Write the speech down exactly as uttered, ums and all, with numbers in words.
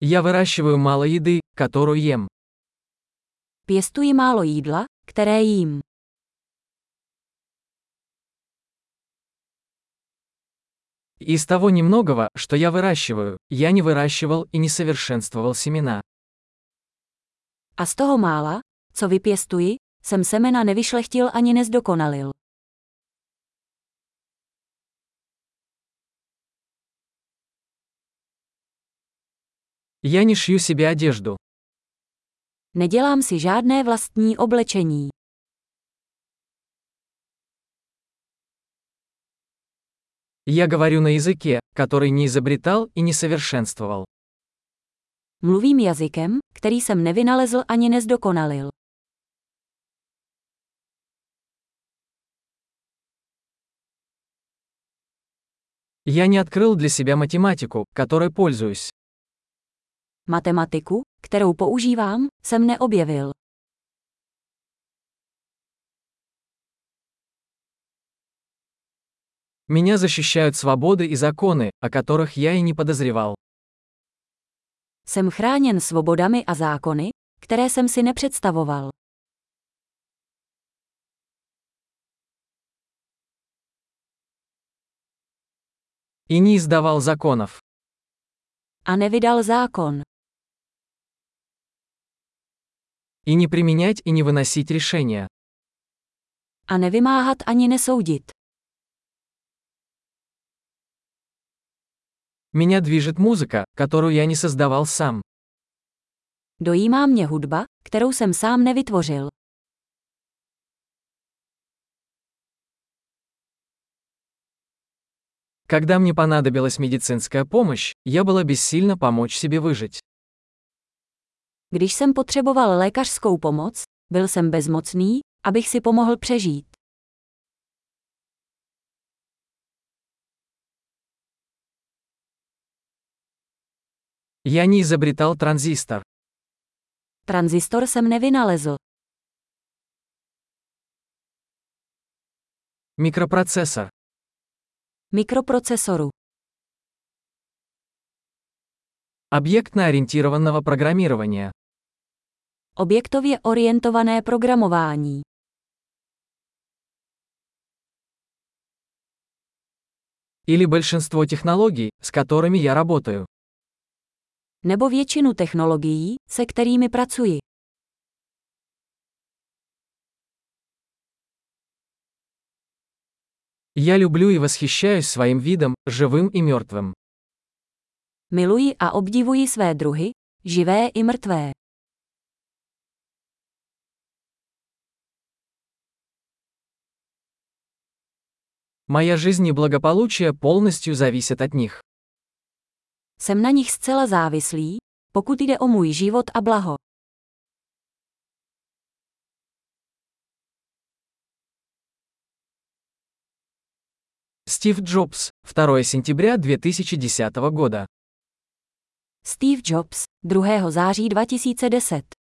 Я выращиваю мало еды, которую ем. Pěstuji málo jídla, které jím. Из того немногого, что я выращиваю, я не выращивал и не совершенствовал семена. A z toho mála, co vypěstuji, jsem semena nevyšlechtil ani nezdokonalil. Я не шью себе одежду. Nedělám si žádné vlastní oblečení. Я говорю на языке, который не изобретал и не совершенствовал. Mluvím jazykem, který jsem nevynalezl ani nezdokonalil. Я не открыл для себя математику, которой пользуюсь. Matematiku, kterou používám, jsem neobjevil. Меня защищают свободы и законы, о которых я и не подозревал. Jsem chráněn svobodami a zákony, které jsem si nepředstavoval. И не издавал законов. A nevydal zákon. И не применять и не выносить решения. A nevymáhat ani nesoudit. Меня движет музыка, которую я не создавал сам. Dojímá mě hudba, kterou jsem sám nevytvořil. Когда мне понадобилась медицинская помощь, я была бессильна помочь себе выжить. Když jsem potřeboval lékařskou pomoc, byl jsem bezmocný, abych si pomohl přežít. Я не изобретал транзистор. Tranzistor jsem nevynalezl. Микропроцессор. Mikroprocesoru. Объектно-ориентированного программирования. Objektově orientované programování. Или большинство технологий, с которыми я работаю. Nebo většinu technologií, se kterými pracuji. Я люблю и восхищаюсь своим видом, живым и мертвым. Miluji a obdivuji své druhy, živé i mrtvé. Моя жизнь и благополучие полностью зависят от них. Jsem na nich zcela závislý, pokud jde o můj život a blaho. Стив Джобс, второе сентября две тысячи десятого года. Steve Jobs, druhého září dva tisíce deset.